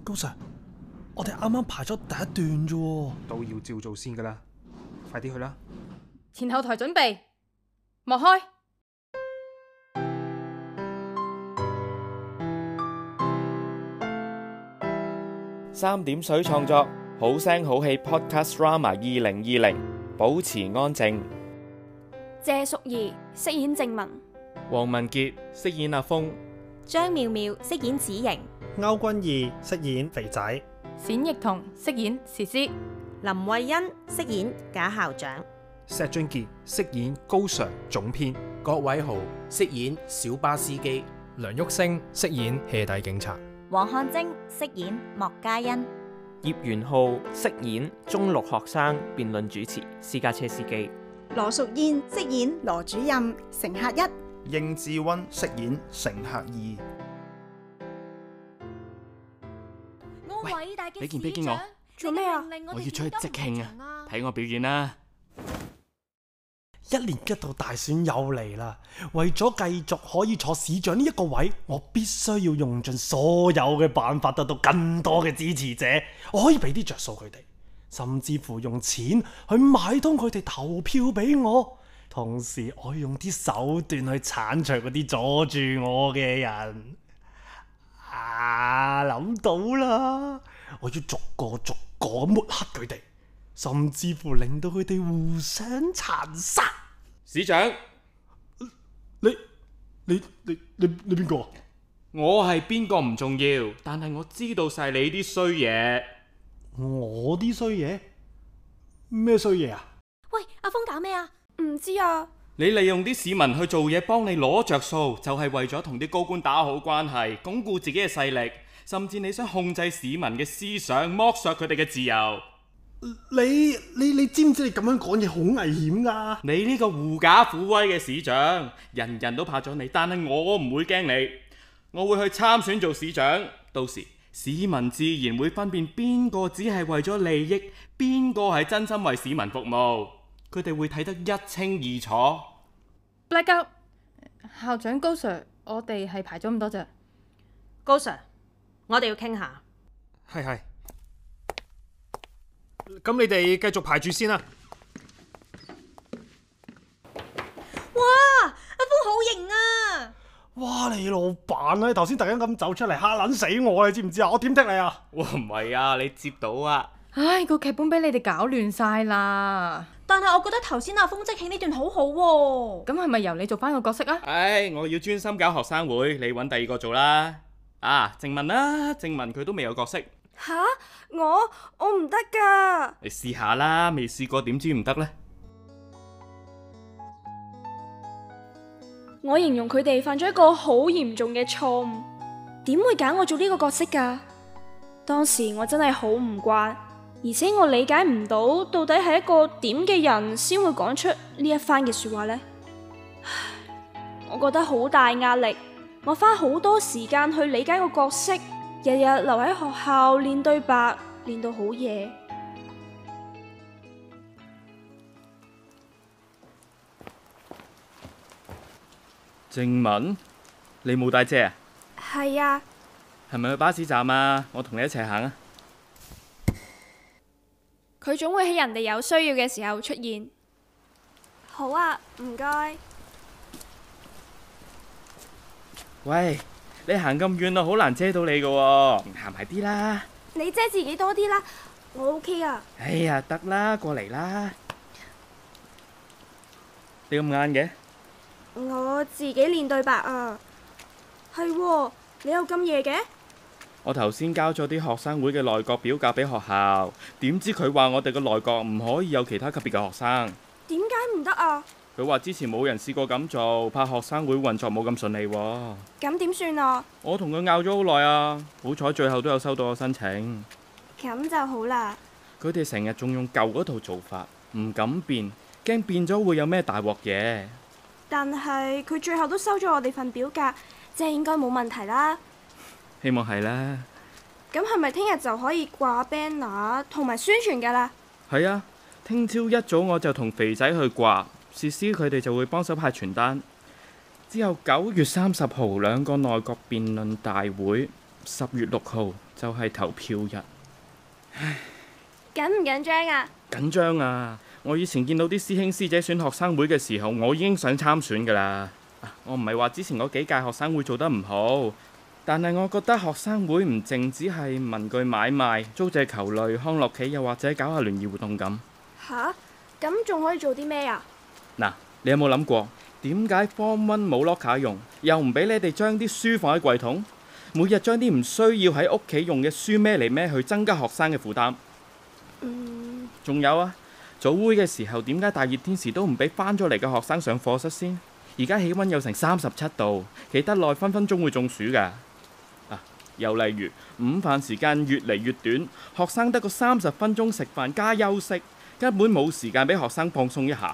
高 Sir，我哋啱啱排咗第一段啫， 都要照做先噶啦，快啲去啦！ 前後台準備，幕開。 3點水創作，好聲好戲 Podcast Drama 2020，保持安靜。 謝淑儀飾演靜雯， 黃文傑飾演阿峰， 張妙妙飾演子瑩， 歐君義飾演肥仔， 冼奕彤飾演時師， 林慧欣飾演賈校長， 石俊傑飾演高 Sir 總編， 郭偉豪飾演小巴司機， 梁煜星飾演戲底警察， 黃漢貞飾演莫嘉欣， 葉元浩飾演中六學生辯論主持私家車司機， 羅淑燕飾演羅主任乘客1， 應志溫飾演乘客2。 喂， 俾件披肩我， 做咩啊？ 我要出去即興啊！睇我表演啦 ！1年1度大選又嚟啦，為咗繼續可以坐市長呢一個位，我必須要用盡所有嘅辦法得到更多嘅支持者。我可以俾啲着數佢哋，甚至乎用錢去買通佢哋投票俾我。同時，我要用啲手段去剷除嗰啲阻住我嘅人。諗到啦！我要逐個抹黑佢哋，甚至乎令到佢哋互相殘殺。 市長， 你邊個？ 我係邊個唔重要，但係我知道晒你啲衰嘢。 我啲衰嘢？咩衰嘢啊？ 喂，阿峰搞咩啊？唔知啊。 你利用啲市民去做嘢，幫你攞着數，就係為咗同啲高官打好關係，鞏固自己嘅勢力，甚至你想控制市民嘅思想，剝削佢哋嘅自由。 你知唔知你咁樣講嘢好危險㗎？ 你呢個狐假虎威嘅市長，人人都怕咗你，但係我唔會驚你。我會去參選做市長，到時市民自然會分辨邊個只係為咗利益，邊個係真心為市民服務。佢哋會睇得一清二楚。 Black Up， 校長高 Sir， 我哋係排咗咁多隻。 高 Sir， 我哋要傾下。 係。咁你哋繼續排住先啦。 哇，阿峰好型啊！ 哇，你老闆啊！頭先突然間咁走出嚟嚇撚死我，你知唔知啊？我點剔你啊？ 哇，唔係啊，你接到啊！ 唉，個劇本俾你哋搞亂晒啦。 但係我覺得頭先阿峰即興呢段好好喎。 咁係咪由你做翻個角色啊？ 唉，我要專心搞學生會，你揾第二個做啦。靜雯啦，靜雯佢都未有角色。 吓？我唔得噶。 你試下啦，未試過點知唔得呢？ 我形容佢哋犯咗一個好嚴重嘅錯誤，點會揀我做呢個角色噶？當時我真係好唔慣。而且我理解唔到底係一個點嘅人先會講出呢一番嘅說話呢？我覺得好大壓力，我花好多時間去理解個角色，日日留喺學校練對白，練到好夜。 靜雯，你冇帶遮啊？ 係啊。 係咪去巴士站啊？我同你一齊行啊！ 佢總會喺人哋有需要嘅時候出現。好啊，唔該。 喂，你行咁遠啊，好難遮到你㗎喎，行埋啲啦。 你遮自己多啲啦，我 OK 啊。 哎呀，得啦，過嚟啦。你咁晏嘅？ 我自己練對白啊。係喎，你又咁夜嘅？ 我頭先交咗啲學生會嘅內閣表格俾學校，點知佢話我哋個內閣唔可以有其他級別嘅學生。 點解唔得啊？ 佢話之前冇人試過咁做，怕學生會運作冇咁順利喎。 咁點算啊？ 我同佢拗咗好耐啊，好彩最後都有收到我申請。 咁就好啦。 佢哋成日仲用舊嗰套做法，唔敢變，驚變咗會有咩大鑊嘢。 但係佢最後都收咗我哋份表格，即係應該冇問題啦。 希望係啦。 咁係咪聽日就可以掛 banner 同埋宣傳噶啦？ 係啊，聽朝一早我就同肥仔去掛，薛師佢哋就會幫手派傳單。之後9月30號2個內閣辯論大會， 10月6號就係投票日。唉， 緊唔緊張啊？ 緊張啊！我以前見到啲師兄師姐選學生會嘅時候，我已經想參選㗎啦。我唔係話之前嗰幾屆學生會做得唔好，但係我覺得學生會唔淨只係文具買賣、租借球類、康樂棋，又或者搞下聯誼活動咁。 吓？咁仲可以做啲咩啊？ 嗱，你有冇諗過點解 Form 1冇 locker 用，又唔俾你哋將啲書放喺櫃桶，每日將啲唔需要喺屋企用嘅書孭嚟孭去，增加學生嘅負擔？仲有啊，早會嘅時候點解大熱天時都唔俾返咗嚟嘅學生上課室先？而家氣溫有成37度，企得耐分分鐘會中暑㗎。又例如午飯時間越嚟越短，學生得個30分鐘食飯加休息，根本冇時間俾學生放鬆一下。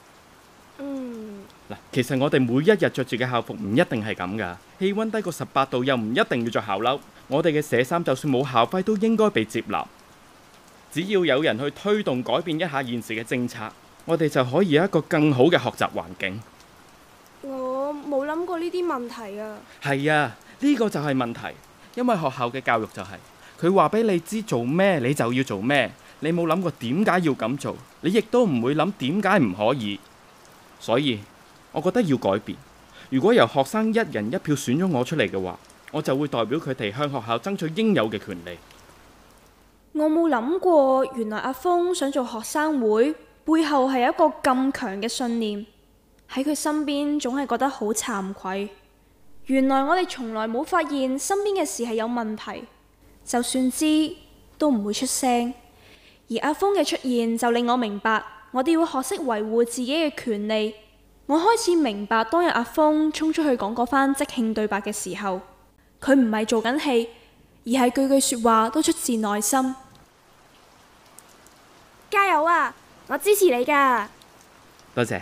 其實我哋每一日着住嘅校服唔一定係咁㗎，氣溫低過18度又唔一定要着校褸。我哋嘅社衫就算冇校徽都應該被接納。只要有人去推動改變一下現時嘅政策，我哋就可以有一個更好嘅學習環境。 我冇諗過呢啲問題啊。 係啊，呢個就係問題，因為學校嘅教育就係佢話俾你知做咩你就要做咩，你冇諗過點解要咁做，你亦都唔會諗點解唔可以。所以我覺得要改變。如果由學生一人一票選咗我出嚟嘅話，我就會代表佢哋向學校爭取應有嘅權利。 我冇諗過，原來阿峰想做學生會背後係有一個咁強嘅信念，喺佢身邊總係覺得好慚愧。原來我哋從來冇發現身邊嘅事係有問題，就算知都唔會出聲。而阿峰嘅出現就令我明白，我哋要學識維護自己嘅權利。我開始明白當日阿峰衝出去講嗰番即興對白嘅時候，佢唔係做緊戲，而係句句說話都出自內心。加油啊！我支持你㗎。 多謝。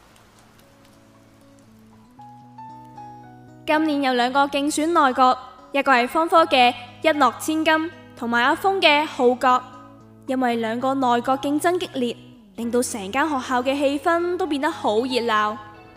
今年有2個競選內閣，一個係方科嘅一諾千金，同埋阿峰嘅號角。因為2個內閣競爭激烈，令到成間學校嘅氣氛都變得好熱鬧。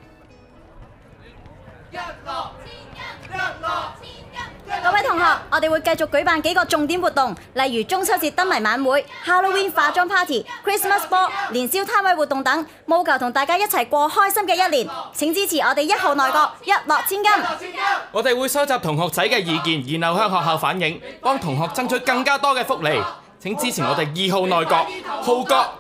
各位同學，我哋會繼續舉辦幾個重點活動，例如中秋節燈謎晚會、Halloween 化妝 Party、Christmas Ball、年宵攤位活動等，務求同大家一齊過開心嘅一年。請支持我哋1號內閣，一諾千金。 我哋會收集同學仔嘅意見，然後向學校反映，幫同學爭取更加多嘅福利。請支持我哋2號內閣，號角。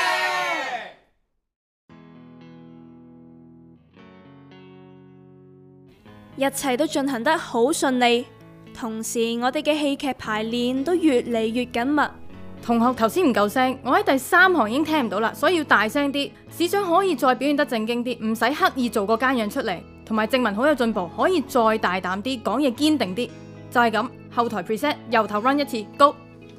一切都進行得好順利，同時我哋嘅戲劇排練都越嚟越緊密。 同學頭先唔夠聲，我喺第3行已經聽唔到啦，所以要大聲啲。市長可以再表現得正經啲，唔使刻意做個奸樣出嚟。同埋正文好有進步，可以再大膽啲，講嘢堅定啲。就係咁，後台 preset 由頭 run 一次 ，Go。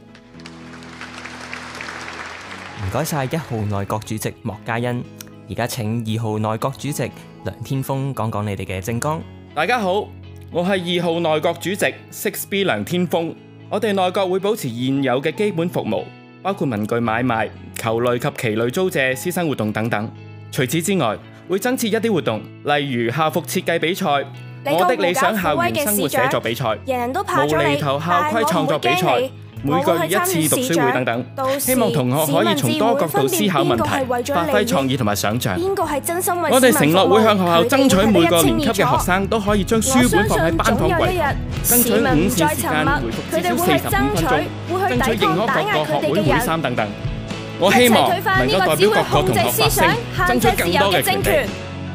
唔該晒1號內閣主席莫嘉欣，而家請2號內閣主席梁天峰講講你哋嘅政綱。 大家好，我係2號內閣主席 6B 梁天峰。我哋內閣會保持現有嘅基本服務，包括文具買賣、球類及棋類租借、師生活動等等。除此之外，會增設一啲活動，例如校服設計比賽、我的理想校園生活寫作比賽、無厘頭校規創作比賽、每個月1次讀書會等等，希望同學可以從多角度思考問題，發揮創意同埋想像。我哋承諾會向學校爭取每個年級嘅學生都可以將書本放喺班房櫃，爭取午膳時間回復至少45分鐘，爭取認可各個學會會衫等等。我希望能夠代表各個同學發聲，爭取更多嘅權利。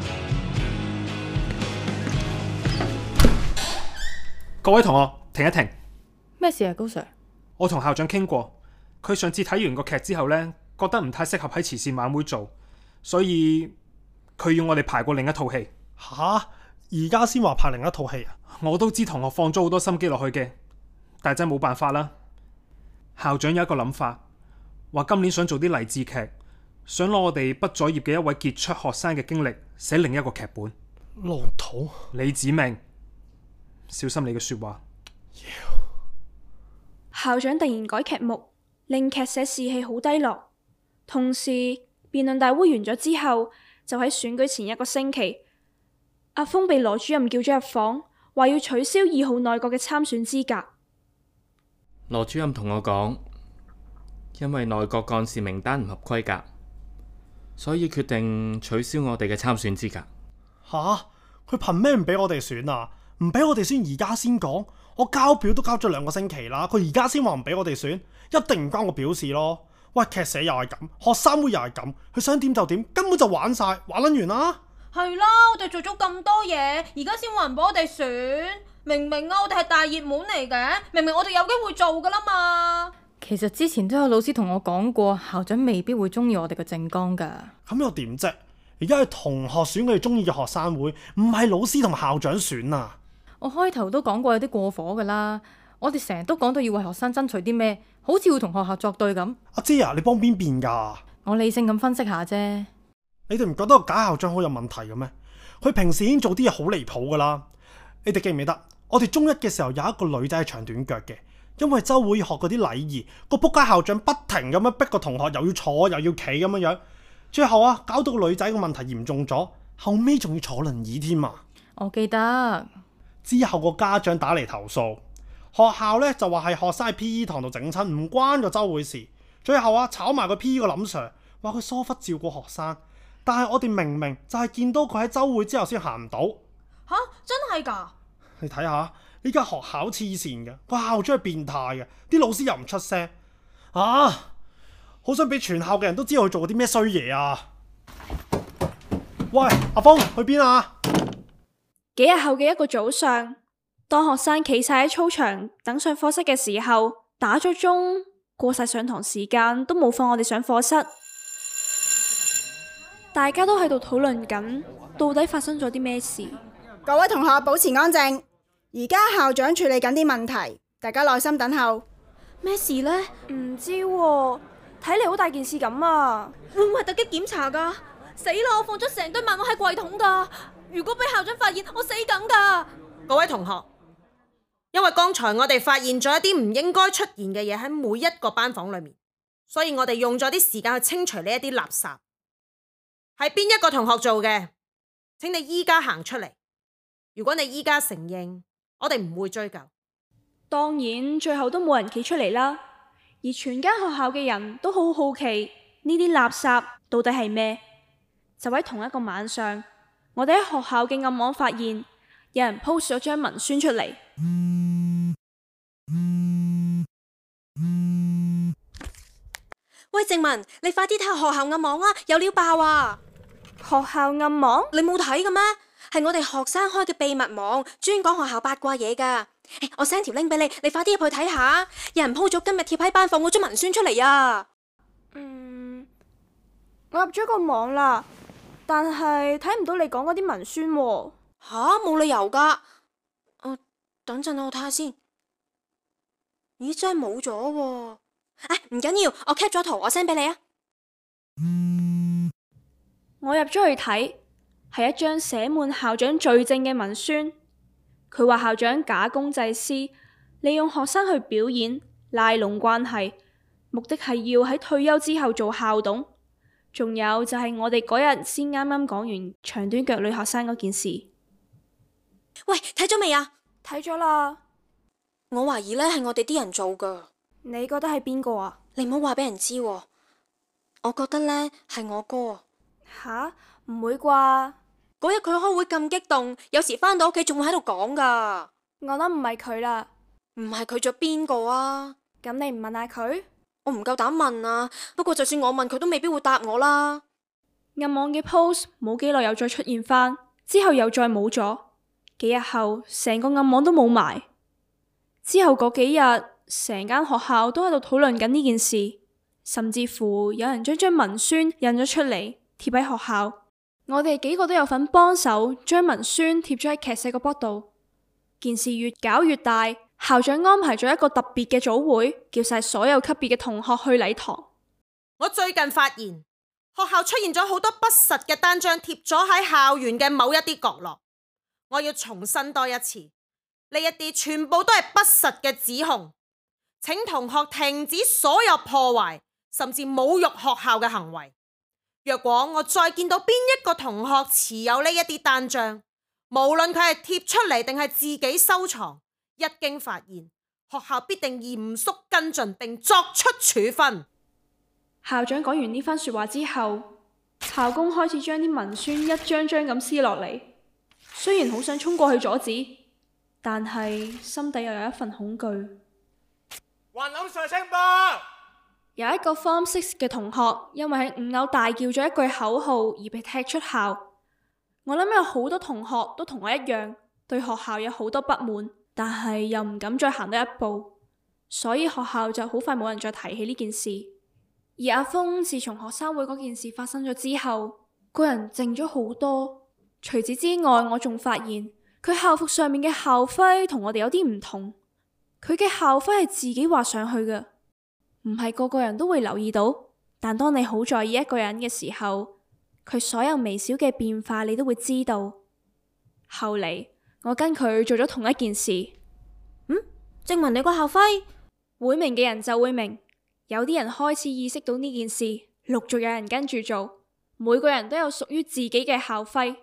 各位同學，停一停。 咩事啊，高 Sir？ 我同校長傾過，佢上次睇完個劇之後呢，覺得唔太適合喺慈善晚會做，所以佢要我哋排過另一套戲。 吓？而家先話拍另一套戲啊？ 我都知同學放咗好多心機落去嘅，但係真係冇辦法啦。校長有一個諗法，話今年想做啲勵志劇，想攞我哋畢咗業嘅一位傑出學生嘅經歷寫另一個劇本。 老土！ 李子明，小心你嘅說話。 校長突然改劇目，令劇社士氣好低落。同時，辯論大會完咗之後，就喺選舉前1個星期，阿峰被羅主任叫咗入房， 話要取消2號內閣嘅參選資格。 羅主任同我講，因為內閣幹事名單唔合規格，所以決定取消我哋嘅參選資格。 吓？佢憑咩唔俾我哋選啊？唔俾我哋選而家先講？我交表都交咗2個星期啦，佢而家先話唔俾我哋選，一定唔關我表示咯。喂，劇社又係咁，學生會又係咁，佢想點就點，根本就玩晒，玩撚完啦。 係啦，我哋做咗咁多嘢，而家先話唔俾我哋選，明明啊，我哋係大熱門嚟嘅，明明我哋有機會做噶啦嘛。 其實之前都有老師同我講過，校長未必會中意我哋嘅政綱噶。 咁又點啫？而家係同學選佢哋中意嘅學生會，唔係老師同校長選啊。 我開頭都講過有啲過火噶啦，我哋成日都講到要為學生爭取啲咩，好似會同學校作對咁。阿姐啊，你幫邊邊噶？我理性咁分析下啫。 你哋唔覺得個假校長好有問題嘅咩？佢平時已經做啲嘢好離譜噶啦。你哋記唔記得？我哋中一嘅時候有一個女仔係長短腳嘅，因為周會學嗰啲禮儀，個仆街校長不停咁樣逼個同學又要坐又要企咁樣樣，最後啊搞到個女仔個問題嚴重咗，後尾仲要坐輪椅添啊！ 我記得之後個家長打嚟投訴，學校咧就話係學生喺 P.E. 堂度整親，唔關個周會事。最後啊炒埋個 P.E. 個林 Sir， 話佢疏忽照顧學生。但係我哋明明就係見到佢喺周會之後先行唔到。 吓？真係㗎？ 你睇下呢間學校黐線嘅，個校長係變態嘅，啲老師又唔出聲啊！好想俾全校嘅人都知道佢做過啲咩衰嘢啊！喂，阿峰去邊啊？ 幾日後嘅一個早上，當學生企晒喺操場等上課室嘅時候，打咗鐘，過晒上堂時間都冇放我哋上課室。大家都喺度討論緊，到底發生咗啲咩事？ 各位同學保持安靜，而家校長處理緊啲問題，大家耐心等候。 咩事呢？唔知喎，睇嚟好大件事咁啊！ 會唔會係突擊檢查噶？死啦！我放咗成堆漫畫喺櫃桶噶，如果俾校長發現，我死梗噶！ 各位同學，因為剛才我哋發現咗一啲唔應該出現嘅嘢喺每一個班房裏面，所以我哋用咗啲時間去清除呢一啲垃圾。係邊一個同學做嘅？請你依家行出嚟。如果你依家承認，我哋唔會追究。 當然，最後都冇人企出嚟啦。而全間學校嘅人都好好奇呢啲垃圾到底係咩？就喺同一個晚上，我哋喺學校嘅暗網發現有人 post 咗張文宣出嚟。 喂，靜文，你快啲睇下學校暗網啊，有料爆啊！ 學校暗網？ 你冇睇嘅咩？係我哋學生開嘅秘密網，專講學校八卦嘢噶。我 send 條 link 俾你，你快啲入去睇下。有人 po 咗今日貼喺班房嗰張文宣出嚟啊！ 我入咗個網啦，但係睇唔到你講嗰啲文宣喎。 吓？冇理由噶。等陣我睇下先。咦，真係冇咗喎。唔緊要，我 cap 咗圖，我 send 俾你啊。 我入咗去睇，係一張寫滿校長罪證嘅文宣。佢話校長假公濟私，利用學生去表演，拉攏關係，目的係要喺退休之後做校董。仲有就係我哋嗰日先啱啱講完長短腳女學生嗰件事。 喂，睇咗未啊？ 睇咗啦。 我懷疑呢係我哋啲人做噶。 你覺得係邊個啊？ 你唔好話俾人知喎。我覺得呢係我哥。 吓？唔會啩？ 嗰日佢開會咁激動，有時返到屋企仲會喺度講噶。 我諗唔係佢啦。 唔係佢仲邊個啊？ 咁你唔問下佢？ 我唔夠膽問啊。不過就算我問佢都未必會答我啦。 暗網嘅 post 冇幾耐又再出現返，之後又再冇咗。幾日後成個暗網都冇埋。之後嗰幾日成間學校都喺度討論緊呢件事，甚至乎有人將張文宣印咗出嚟貼喺學校。我哋幾個都有份幫手將文宣貼咗喺劇社個 board 度。件事越搞越大，校長安排咗一個特別嘅早會，叫晒所有級別嘅同學去禮堂。 我最近發現學校出現咗好多不實嘅單張貼咗喺校園嘅某一啲角落。我要重申多一次，呢一啲全部都係不實嘅指控，請同學停止所有破壞甚至侮辱學校嘅行為。若果我再見到邊一個同學持有呢一啲單張， 無論佢係貼出嚟定係自己收藏，一經發現，學校必定嚴肅跟進並作出處分。 校長講完呢番說話之後，校工開始將啲文宣一張張咁撕落嚟。雖然好想衝過去阻止，但係心底又有一份恐懼。 還諗上聲吧！ 有一個 Form 6嘅同學因為喺5樓大叫咗一句口號而被踢出校。我諗有好多同學都同我一樣，對學校有好多不滿，但係又唔敢再行多一步，所以學校就好快冇人再提起呢件事。而阿峰自從學生會嗰件事發生咗之後，個人靜咗好多。除此之外，我仲發現佢校服上面嘅校徽同我哋有啲唔同。佢嘅校徽係自己畫上去嘅，唔係個個人都會留意到。但當你好在意一個人嘅時候，佢所有微小嘅變化你都會知道。後嚟我跟佢做咗同一件事。 證明你個校徽， 會明嘅人就會明。有啲人開始意識到呢件事，陸續有人跟住做。每個人都有屬於自己嘅校徽。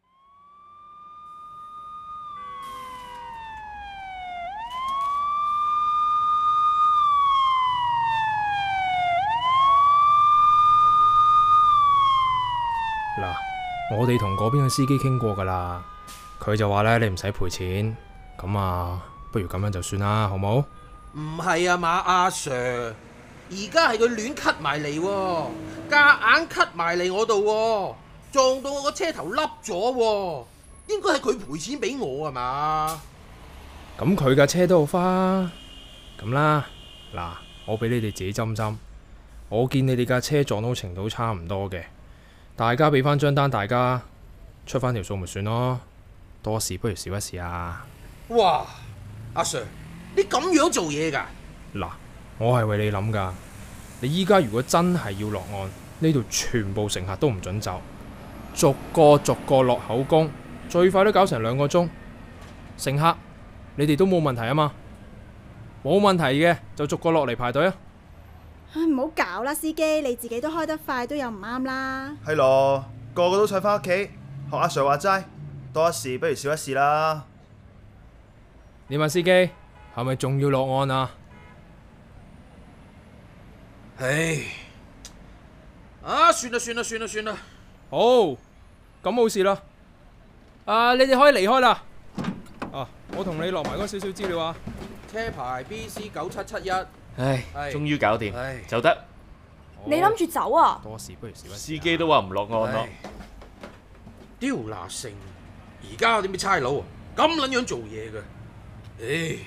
嗱，我哋同嗰邊嘅司機傾過噶啦，佢就話咧，你唔使賠錢，咁啊，不如咁樣就算啦，好冇？ 唔係啊嘛，阿 Sir， 而家係佢亂cut埋嚟，夾硬cut埋嚟我度，撞到我個車頭凹咗，應該係佢賠錢俾我啊嘛？ 咁佢架車都好花，咁啦，嗱，我俾你哋自己斟斟，我見你哋架車撞到程度差唔多嘅。大家俾翻張單，大家出翻條數咪算咯，多事不如少一事啊！ 哇，阿 Sir， 你咁樣做嘢噶？ 嗱，我係為你諗噶，你依家如果真係要落案，呢度全部乘客都唔准走，逐個落口供，最快都搞成2個鐘。乘客，你哋都冇問題啊嘛？冇問題嘅就逐個落嚟排隊啊！ 唔好搞啦，司機，你自己都開得快，都有唔啱啦。 係咯，個個都想翻屋企，學阿 Sir 話齋，多一事不如少一事啦。 你問司機係咪仲要落案啊？ 唉，算啦。 好，咁冇事啦。你哋可以離開啦。我同你落埋嗰少少資料啊。 車牌 BC9771。 唉，終於搞掂，就得。 你諗住走啊？ 多事不如少一事。 司機都話唔落案咯。 刁拿成，而家有啲咩差佬啊？咁撚樣做嘢嘅，唉！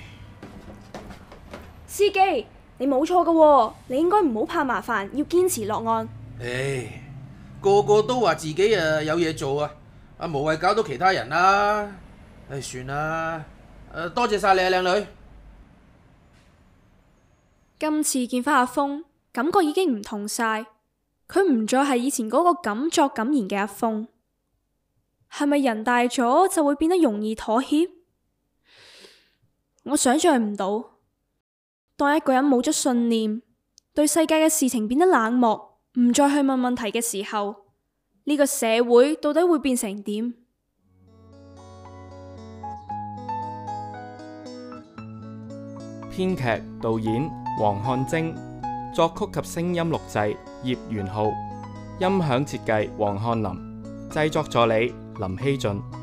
司機，你冇錯㗎，你應該唔好怕麻煩，要堅持落案。 唉，個個都話自己有嘢做啊，無謂搞到其他人啦。唉，算啦，多謝晒你啊，靚女。 今次見翻阿峰，感覺已經唔同晒，佢唔再係以前嗰個敢作敢言嘅阿峰。係咪人大咗就會變得容易妥協？我想象唔到，當一個人冇咗信念，對世界嘅事情變得冷漠，唔再去問問題嘅時候，呢個社會到底會變成點？ 編劇、導演黃漢貞，作曲及聲音錄製葉元浩，音響設計黃漢林，製作助理林希俊。